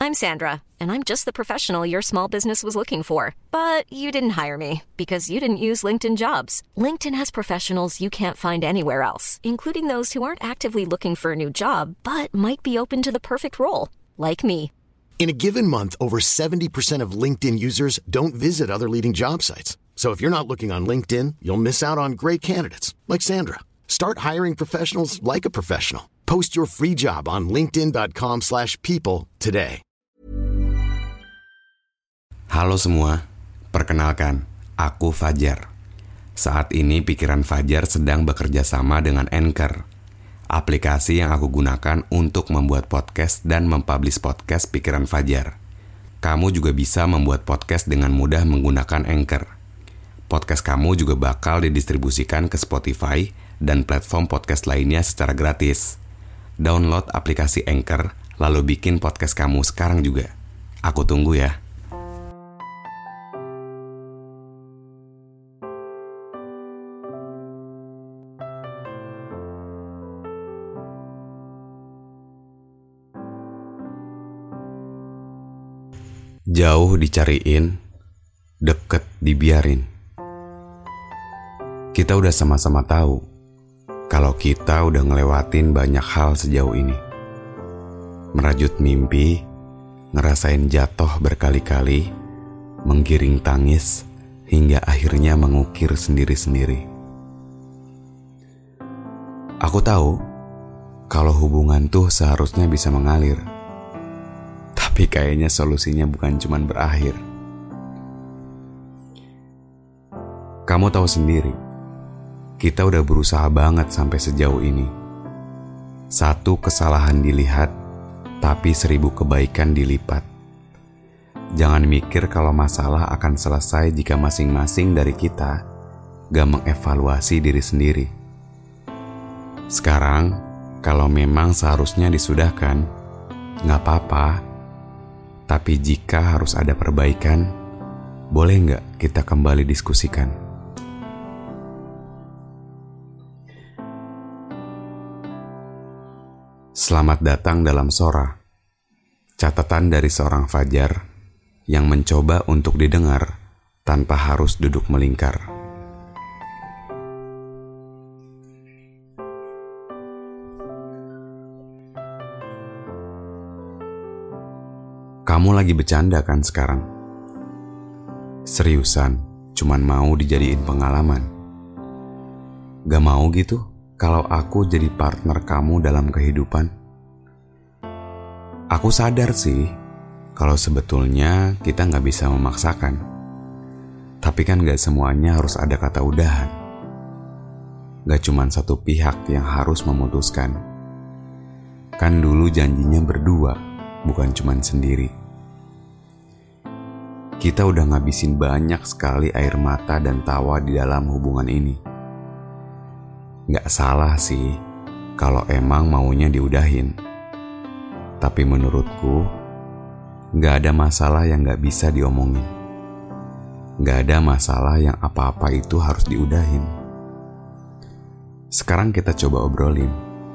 I'm Sandra, and I'm just the professional your small business was looking for. But you didn't hire me because you didn't use LinkedIn Jobs. LinkedIn has professionals you can't find anywhere else, including those who aren't actively looking for a new job, but might be open to the perfect role, like me. In a given month, over 70% of LinkedIn users don't visit other leading job sites. So if you're not looking on LinkedIn, you'll miss out on great candidates like Sandra. Start hiring professionals like a professional. Post your free job on linkedin.com/people today. Halo semua, perkenalkan, aku Fajar. Saat ini pikiran Fajar sedang bekerja sama dengan Anchor, aplikasi yang aku gunakan untuk membuat podcast dan mempublish podcast pikiran Fajar. Kamu juga bisa membuat podcast dengan mudah menggunakan Anchor. Podcast kamu juga bakal didistribusikan ke Spotify dan platform podcast lainnya secara gratis. Download aplikasi Anchor, lalu bikin podcast kamu sekarang juga. Aku tunggu ya. Jauh dicariin, deket dibiarin. Kita udah sama-sama tahu kalau kita udah ngelewatin banyak hal sejauh ini. Merajut mimpi, ngerasain jatuh berkali-kali, menggiring tangis, hingga akhirnya mengukir sendiri-sendiri. Aku tahu kalau hubungan tuh seharusnya bisa mengalir. Tapi kayaknya solusinya bukan cuma berakhir. Kamu tahu sendiri, kita udah berusaha banget sampai sejauh ini. Satu kesalahan dilihat, tapi 1000 kebaikan dilipat. Jangan mikir kalau masalah akan selesai jika masing-masing dari kita gak mengevaluasi diri sendiri. Sekarang, kalau memang seharusnya disudahkan, gak apa-apa. Tapi jika harus ada perbaikan, boleh nggak kita kembali diskusikan? Selamat datang dalam Sora, catatan dari seorang Fajar yang mencoba untuk didengar tanpa harus duduk melingkar. Kamu lagi bercanda kan sekarang? Seriusan, cuman mau dijadiin pengalaman? Gak mau gitu kalau aku jadi partner kamu dalam kehidupan? Aku sadar sih kalau sebetulnya kita gak bisa memaksakan. Tapi kan gak semuanya harus ada kata udahan. Gak cuman satu pihak yang harus memutuskan. Kan dulu janjinya berdua, bukan cuman sendiri. Kita udah ngabisin banyak sekali air mata dan tawa di dalam hubungan ini. Gak salah sih kalau emang maunya diudahin. Tapi menurutku, gak ada masalah yang gak bisa diomongin. Gak ada masalah yang apa-apa itu harus diudahin. Sekarang kita coba obrolin.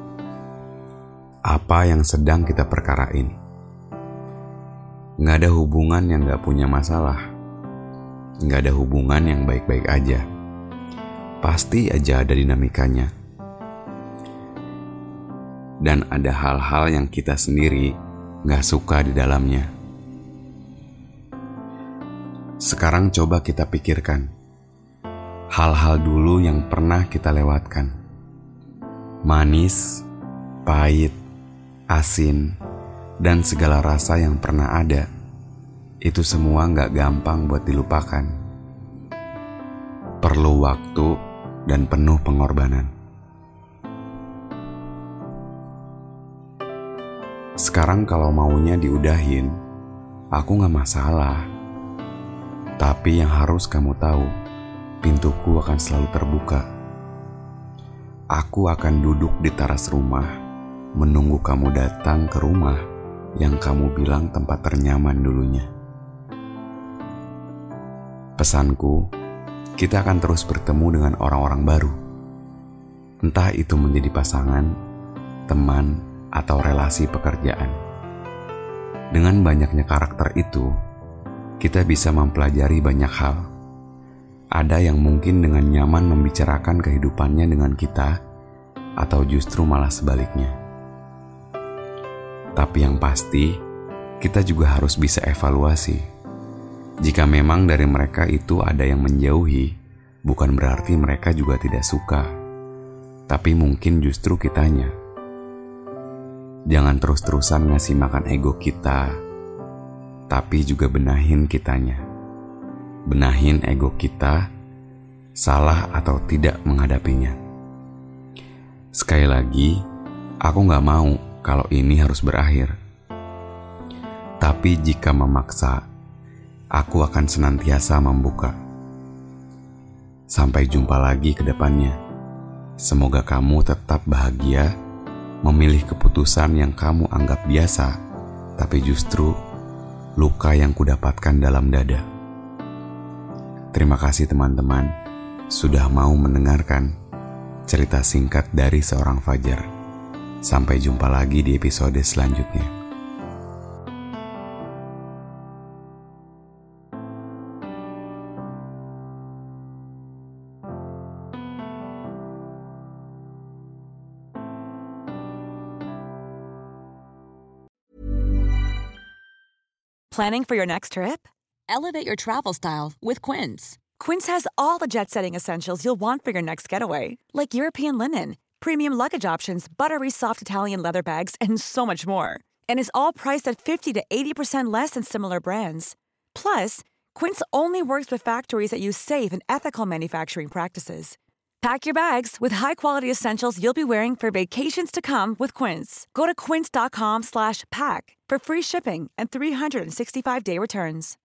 Apa yang sedang kita perkarain? Gak ada hubungan yang gak punya masalah. Gak ada hubungan yang baik-baik aja. Pasti aja ada dinamikanya. Dan ada hal-hal yang kita sendiri gak suka di dalamnya. Sekarang coba kita pikirkan hal-hal dulu yang pernah kita lewatkan. Manis, pahit, asin, dan segala rasa yang pernah ada. Itu semua gak gampang buat dilupakan. Perlu waktu dan penuh pengorbanan. Sekarang kalau maunya diudahin, aku gak masalah. Tapi yang harus kamu tahu, pintuku akan selalu terbuka. Aku akan duduk di teras rumah, menunggu kamu datang ke rumah yang kamu bilang tempat ternyaman dulunya. Pesanku, kita akan terus bertemu dengan orang-orang baru. Entah itu menjadi pasangan, teman, atau relasi pekerjaan. Dengan banyaknya karakter itu, kita bisa mempelajari banyak hal. Ada yang mungkin dengan nyaman membicarakan kehidupannya dengan kita, atau justru malah sebaliknya. Tapi yang pasti, kita juga harus bisa evaluasi. Jika memang dari mereka itu ada yang menjauhi, bukan berarti mereka juga tidak suka, tapi mungkin justru kitanya. Jangan terus-terusan ngasih makan ego kita, tapi juga benahin kitanya. Benahin ego kita, salah atau tidak menghadapinya. Sekali lagi, aku gak mau kalau ini harus berakhir. Tapi jika memaksa, aku akan senantiasa membuka. Sampai jumpa lagi ke depannya. Semoga kamu tetap bahagia, memilih keputusan yang kamu anggap biasa, tapi justru luka yang kudapatkan dalam dada. Terima kasih teman-teman, sudah mau mendengarkan cerita singkat dari seorang Fajar. Sampai jumpa lagi di episode selanjutnya. Planning for your next trip? Elevate your travel style with Quince. Quince has all the jet-setting essentials you'll want for your next getaway, like European linen, premium luggage options, buttery soft Italian leather bags, and so much more. And is all priced at 50 to 80% less than similar brands. Plus, Quince only works with factories that use safe and ethical manufacturing practices. Pack your bags with high-quality essentials you'll be wearing for vacations to come with Quince. Go to quince.com/pack for free shipping and 365-day returns.